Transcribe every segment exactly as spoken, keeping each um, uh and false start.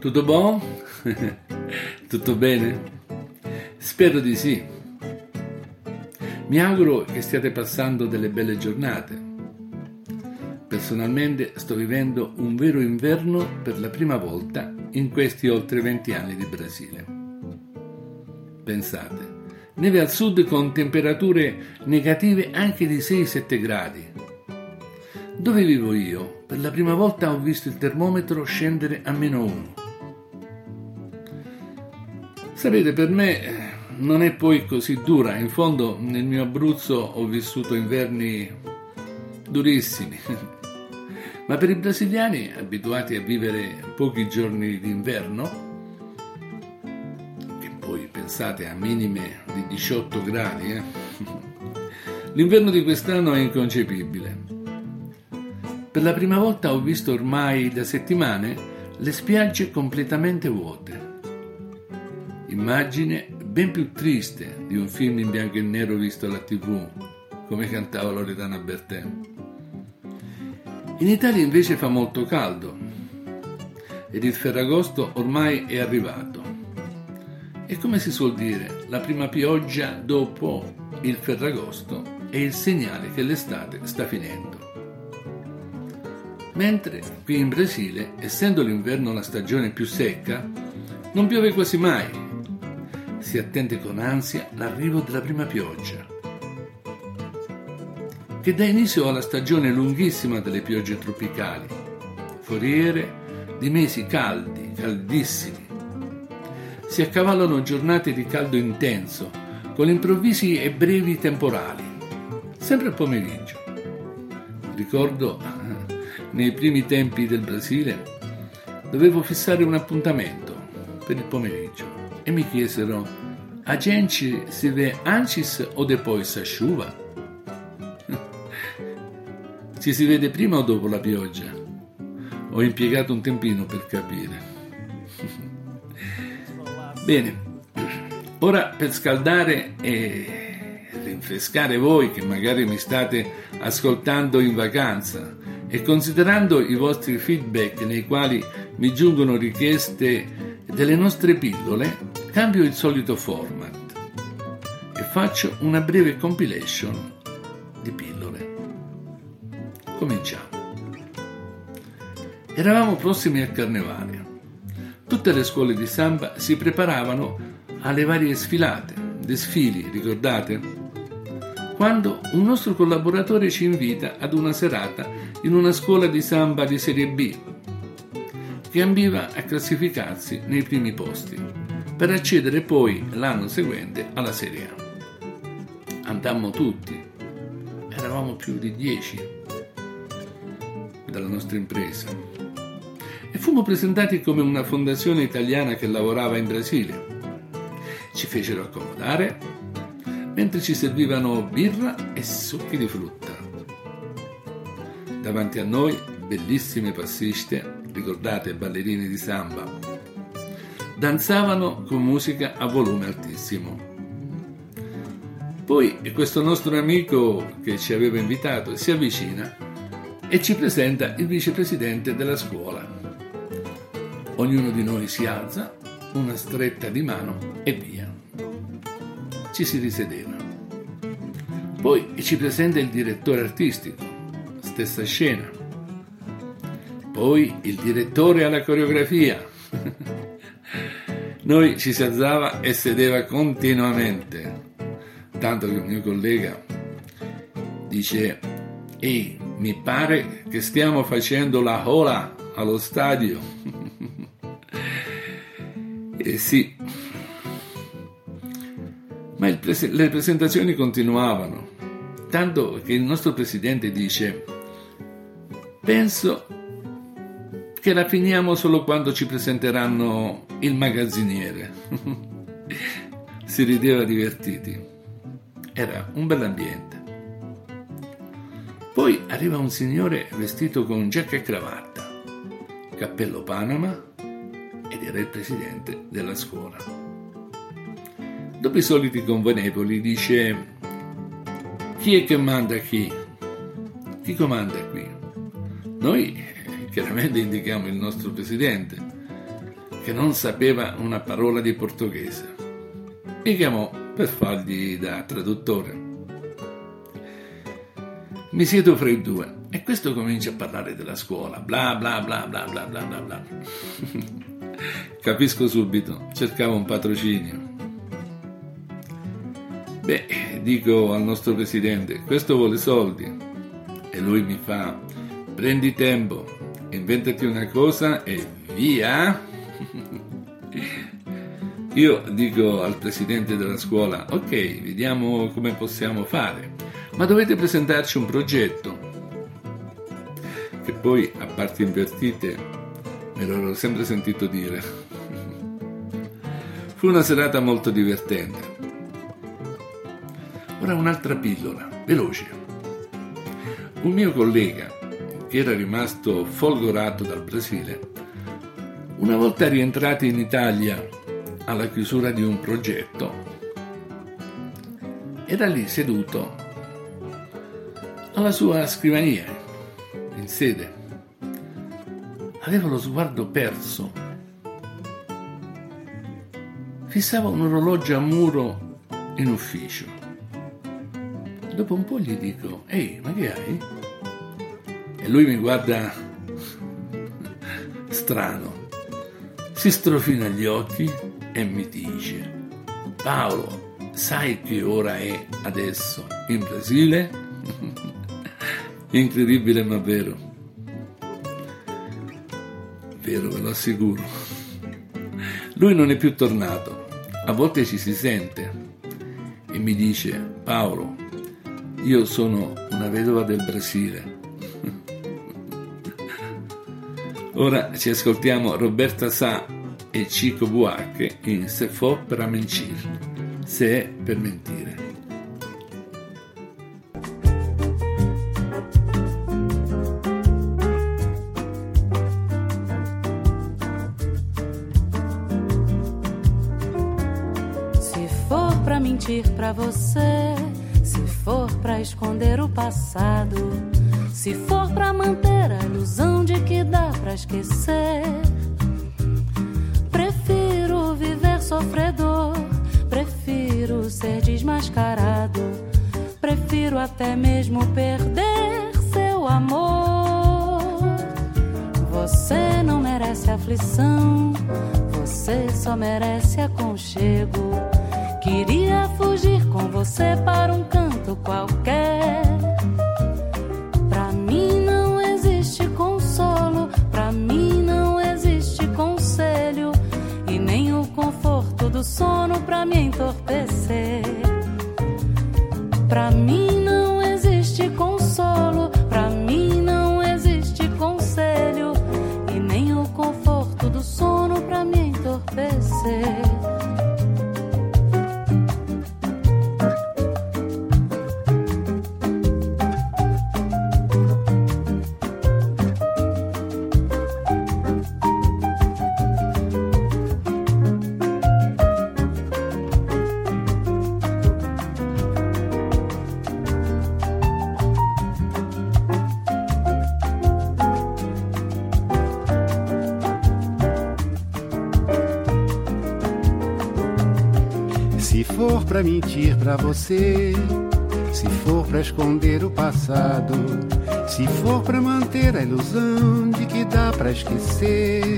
Tutto buon? Tutto bene? Spero di sì. Mi auguro che stiate passando delle belle giornate. Personalmente sto vivendo un vero inverno per la prima volta in questi oltre venti anni di Brasile. Pensate, neve al sud con temperature negative anche di sei sette gradi. Dove vivo io, per la prima volta ho visto il termometro scendere a meno uno. Sapete, per me non è poi così dura. In fondo, nel mio Abruzzo ho vissuto inverni durissimi. Ma per i brasiliani, abituati a vivere pochi giorni d'inverno, che poi pensate a minime di diciotto gradi, eh? L'inverno di quest'anno è inconcepibile. Per la prima volta ho visto ormai da settimane le spiagge completamente vuote. Immagine ben più triste di un film in bianco e nero visto alla tivù, come cantava Loredana Bertè. In Italia invece fa molto caldo ed il Ferragosto ormai è arrivato. E come si suol dire, la prima pioggia dopo il Ferragosto è il segnale che l'estate sta finendo. Mentre qui in Brasile, essendo l'inverno la stagione più secca, non piove quasi mai. Si attende con ansia l'arrivo della prima pioggia, che dà inizio alla stagione lunghissima delle piogge tropicali, foriere di mesi caldi, caldissimi. Si accavallano giornate di caldo intenso, con improvvisi e brevi temporali, sempre al pomeriggio. Ricordo, nei primi tempi del Brasile, dovevo fissare un appuntamento per il pomeriggio e mi chiesero: a gente si vê antes o depois a chuva? Ci si vede prima o dopo la pioggia? Ho impiegato un tempino per capire. Bene, ora per scaldare e rinfrescare voi che magari mi state ascoltando in vacanza e considerando i vostri feedback nei quali mi giungono richieste delle nostre pillole, cambio il solito format e faccio una breve compilation di pillole. Cominciamo. Eravamo prossimi al carnevale. Tutte le scuole di samba si preparavano alle varie sfilate, desfili, ricordate? Quando un nostro collaboratore ci invita ad una serata in una scuola di samba di serie B, che ambiva a classificarsi nei primi posti, per accedere poi l'anno seguente alla serie A. Andammo tutti, eravamo più di dieci dalla nostra impresa, e fummo presentati come una fondazione italiana che lavorava in Brasile. Ci fecero accomodare mentre ci servivano birra e succhi di frutta. Davanti a noi bellissime passiste, ricordate, ballerini di samba, danzavano con musica a volume altissimo. Poi questo nostro amico che ci aveva invitato si avvicina e ci presenta il vicepresidente della scuola. Ognuno di noi si alza, una stretta di mano e via. Ci si risedeva. Poi ci presenta il direttore artistico, stessa scena. Poi il direttore alla coreografia. Noi ci si alzava e sedeva continuamente, tanto che il mio collega dice: ehi, mi pare che stiamo facendo la hola allo stadio. E sì, ma il pres- le presentazioni continuavano, tanto che il nostro presidente dice: penso che la finiamo solo quando ci presenteranno il magazziniere. Si rideva divertiti. Era un bell'ambiente. Poi arriva un signore vestito con giacca e cravatta, cappello Panama, ed era il presidente della scuola. Dopo i soliti convenevoli dice: chi è che manda qui? Chi comanda qui? Noi chiaramente indichiamo il nostro presidente, che non sapeva una parola di portoghese. Mi chiamò per fargli da traduttore. Mi siedo fra i due e questo comincia a parlare della scuola, bla bla bla bla bla bla bla bla. Capisco subito, cercavo un patrocinio. Beh, dico al nostro presidente, questo vuole soldi. E lui mi fa, prendi tempo, inventati una cosa e via. Io dico al presidente della scuola, ok, vediamo come possiamo fare, ma dovete presentarci un progetto. Che poi, a parti invertite, me l'ero sempre sentito dire. Fu una serata molto divertente. Ora un'altra pillola, veloce. Un mio collega, che era rimasto folgorato dal Brasile, una volta rientrati in Italia alla chiusura di un progetto, era lì seduto alla sua scrivania, in sede. Aveva lo sguardo perso. Fissava un orologio a muro in ufficio. Dopo un po' gli dico, ehi, ma che hai? E lui mi guarda strano, si strofina gli occhi e mi dice, Paolo, sai che ora è adesso in Brasile? Incredibile ma vero. Vero, ve lo assicuro. Lui non è più tornato, a volte ci si sente e mi dice, Paolo, io sono una vedova del Brasile. Ora ci ascoltiamo Roberta Sá e Chico Buarque in Se for para mentir, se è per mentire. Se for pra mentir pra você, se for pra esconder o passado, se for pra manter a ilusão de que dá pra esquecer, prefiro viver sofredor, prefiro ser desmascarado, prefiro até mesmo perder seu amor. Você não merece aflição, você só merece aconchego. Queria fugir com você para um canto qualquer. Pra mim não existe consolo, pra mim não existe conselho, e nem o conforto do sono pra me entorpecer. Pra mim não existe consolo, pra mim não existe conselho, e nem o conforto do sono pra me entorpecer. Se for pra mentir pra você, se for pra esconder o passado, se for pra manter a ilusão de que dá pra esquecer,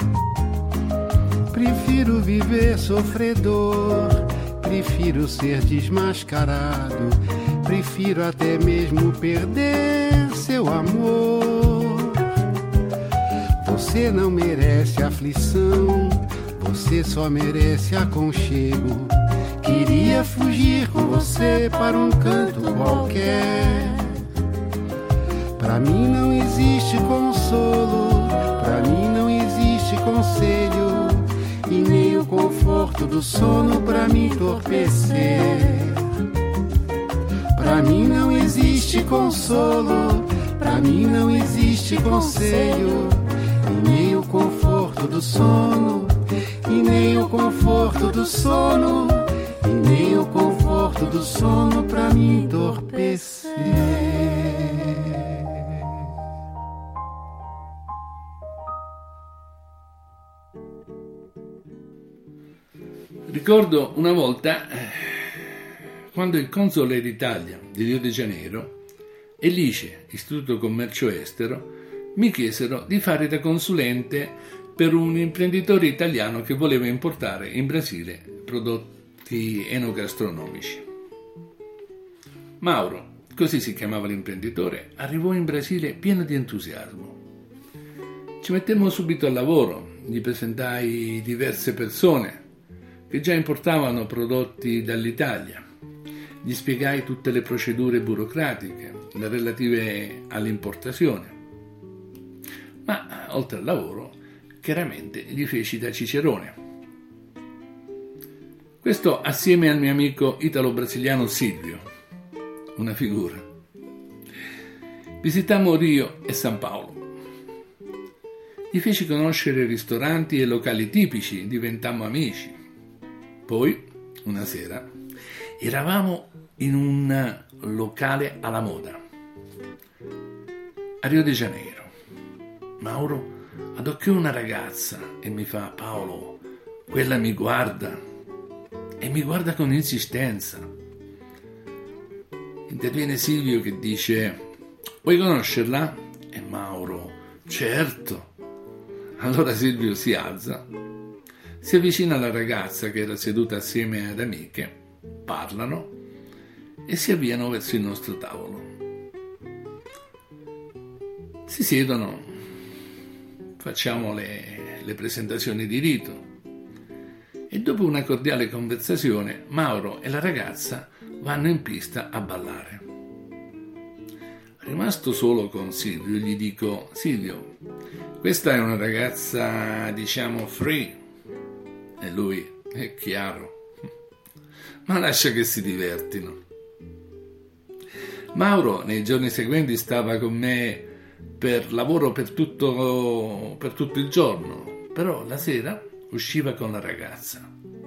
prefiro viver sofredor, prefiro ser desmascarado, prefiro até mesmo perder seu amor. Você não merece aflição, você só merece aconchego. Queria fugir com você para um canto qualquer. Pra mim não existe consolo, pra mim não existe conselho, e nem o conforto do sono pra me entorpecer. Pra mim não existe consolo, pra mim não existe conselho, e nem o conforto do sono, e nem o conforto do sono, e nem o conforto do sono pra me entorpecer. Ricordo una volta eh, quando il console d'Italia di Rio de Janeiro e l'I C E, Istituto Commercio Estero, mi chiesero di fare da consulente per un imprenditore italiano che voleva importare in Brasile prodotti enogastronomici. Mauro, così si chiamava l'imprenditore, arrivò in Brasile pieno di entusiasmo. Ci mettemmo subito al lavoro, gli presentai diverse persone che già importavano prodotti dall'Italia. Gli spiegai tutte le procedure burocratiche, le relative all'importazione. Ma, oltre al lavoro, chiaramente gli feci da cicerone. Questo assieme al mio amico italo-brasiliano Silvio, una figura. Visitammo Rio e San Paolo. Gli feci conoscere ristoranti e locali tipici, diventammo amici. Poi, una sera, eravamo in un locale alla moda, a Rio de Janeiro. Mauro adocchiò una ragazza e mi fa: Paolo, quella mi guarda, e mi guarda con insistenza. Interviene Silvio che dice: vuoi conoscerla? E Mauro: certo. Allora Silvio si alza, si avvicina alla ragazza che era seduta assieme ad amiche, parlano e si avviano verso il nostro tavolo. Si siedono, facciamo le, le presentazioni di rito e dopo una cordiale conversazione Mauro e la ragazza vanno in pista a ballare. Rimasto solo con Silvio gli dico: Silvio, questa è una ragazza, diciamo, free. E lui: è chiaro, ma lascia che si divertino. Mauro nei giorni seguenti stava con me per lavoro per tutto, per tutto il giorno, però la sera usciva con la ragazza.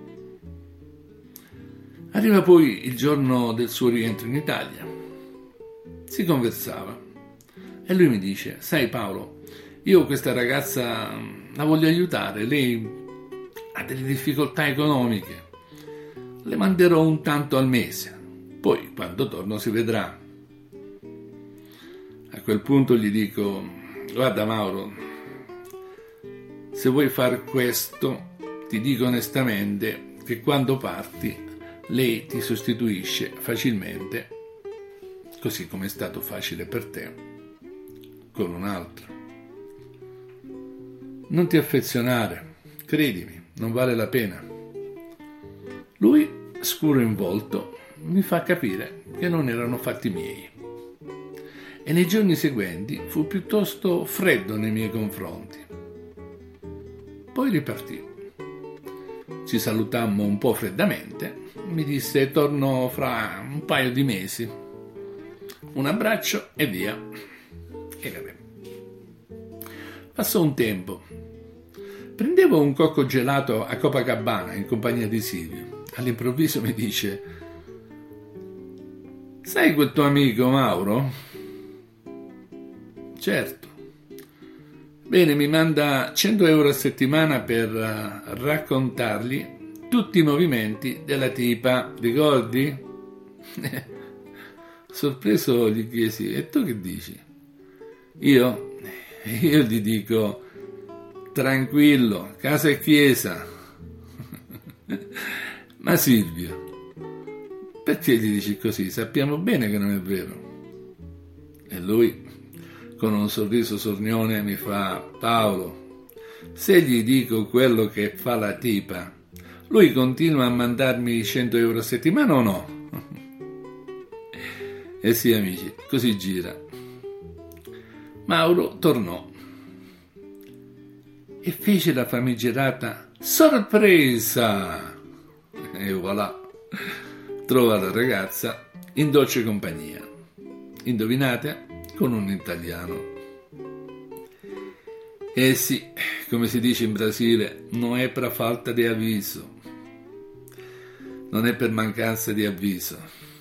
Arriva poi il giorno del suo rientro in Italia. Si conversava e lui mi dice: sai Paolo, io questa ragazza la voglio aiutare, lei ha delle difficoltà economiche, le manderò un tanto al mese, poi quando torno si vedrà. A quel punto gli dico: guarda Mauro, se vuoi far questo ti dico onestamente che quando parti lei ti sostituisce facilmente, così come è stato facile per te con un altro. Non ti affezionare, credimi, non vale la pena. Lui, scuro in volto, mi fa capire che non erano fatti miei. E nei giorni seguenti fu piuttosto freddo nei miei confronti. Poi ripartì. Ci salutammo un po' freddamente. Mi disse: torno fra un paio di mesi. Un abbraccio e via. E vabbè. Passò un tempo. Prendevo un cocco gelato a Copacabana in compagnia di Silvio. All'improvviso mi dice: sai quel tuo amico Mauro? Certo. Bene, mi manda cento euro a settimana per uh, raccontargli tutti i movimenti della tipa, ricordi? Sorpreso gli chiesi: e tu che dici? Io? Io gli dico: tranquillo, casa e chiesa. Ma Silvio, perché gli dici così? Sappiamo bene che non è vero. E lui, con un sorriso sornione, mi fa: Paolo, se gli dico quello che fa la tipa, lui continua a mandarmi cento euro a settimana o no? E sì, amici, così gira. Mauro tornò e fece la famigerata sorpresa. E voilà, trova la ragazza in dolce compagnia. Indovinate? Con un italiano. Eh sì, come si dice in Brasile, non è per falta di avviso. Non è per mancanza di avviso.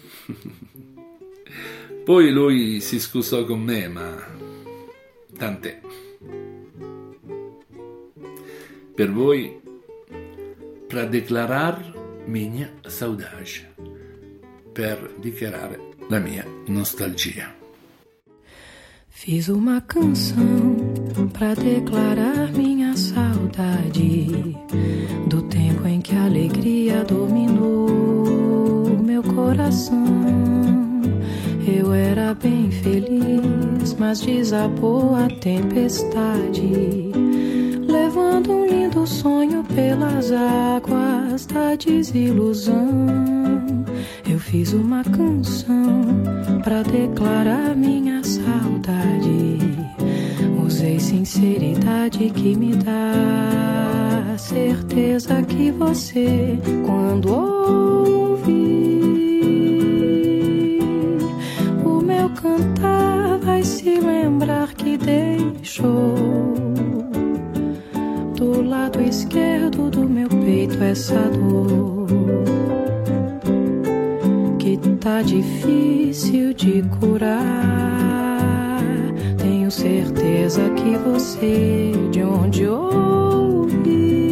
Poi lui si scusò con me, ma tant'è. Per voi para declarar minha saudade, per dichiarare la mia nostalgia. Fiz uma canção pra declarar minha saudade do tempo em que a alegria dominou meu coração. Eu era bem feliz, mas desabou a tempestade, levando um lindo sonho pelas águas da desilusão. Eu fiz uma canção pra declarar minha saudade. Usei sinceridade que me dá certeza que você, quando ouvir o meu cantar, vai se lembrar que deixou do lado esquerdo do meu peito essa dor que tá difícil de curar. Tenho certeza que você, de onde ouvir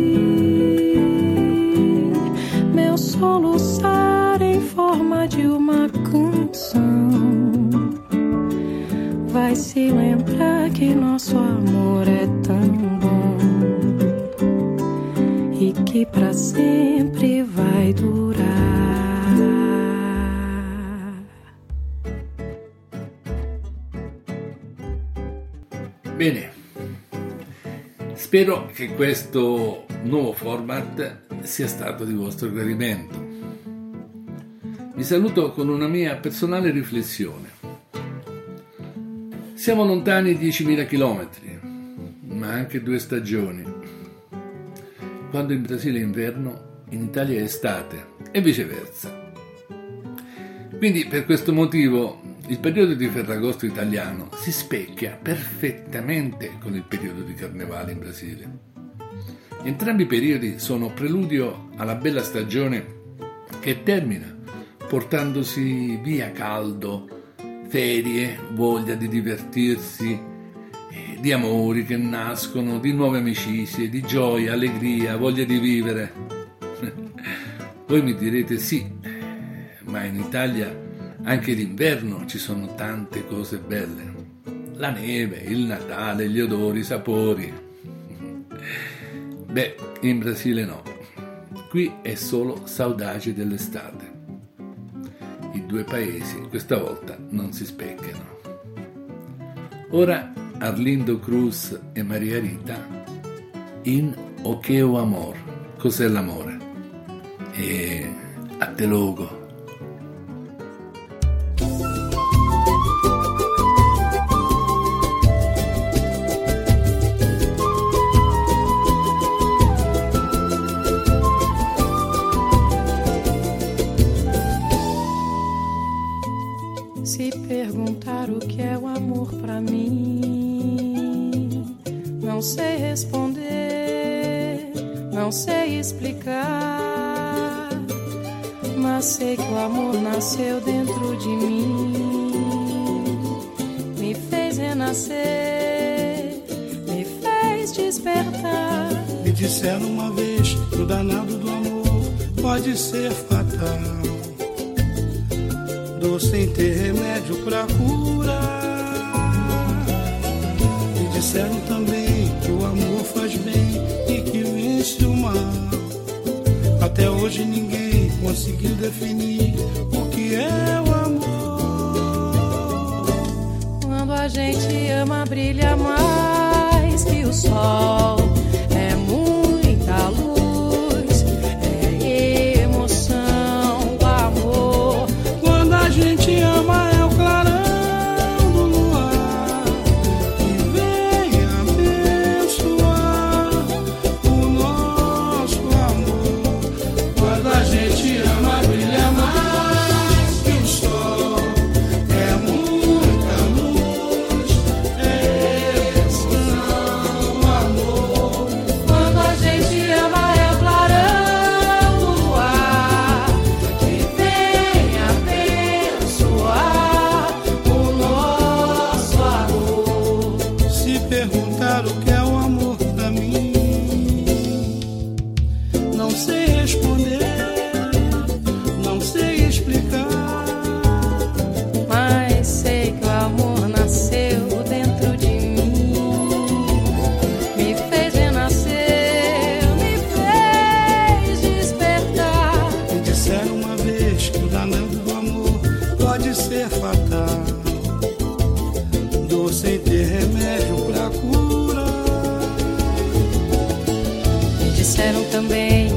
meu soluçar em forma de uma canção, vai se lembrar que nosso amor é tão bom e que pra sempre vai durar. Bene, spero che questo nuovo format sia stato di vostro gradimento. Vi saluto con una mia personale riflessione. Siamo lontani diecimila chilometri, ma anche due stagioni. Quando in Brasile è inverno, in Italia è estate e viceversa. Quindi per questo motivo il periodo di Ferragosto italiano si specchia perfettamente con il periodo di Carnevale in Brasile. Entrambi i periodi sono preludio alla bella stagione che termina portandosi via caldo, ferie, voglia di divertirsi, di amori che nascono, di nuove amicizie, di gioia, allegria, voglia di vivere. Voi mi direte sì, ma in Italia anche d'inverno ci sono tante cose belle. La neve, il Natale, gli odori, i sapori. Beh, in Brasile no. Qui è solo saudade dell'estate. I due paesi questa volta non si specchiano. Ora Arlindo Cruz e Maria Rita in O che o amor, cos'è l'amore? E a te logo. Se perguntar o que é o amor pra mim, não sei responder, não sei explicar, mas sei que o amor nasceu dentro de mim, me fez renascer, me fez despertar. Me disseram uma vez que o danado do amor pode ser fatal, sem ter remédio pra curar. Me disseram também que o amor faz bem e que vence o mal. Até hoje ninguém conseguiu definir o que é o amor. Quando a gente ama, brilha mais que o sol. É muita luz, é emoção, o amor. A gente ama é o clarão do luar que vem abençoar o nosso amor. Quando a gente ama, brilha mais que o sol. É muita luz, é emoção. disseram também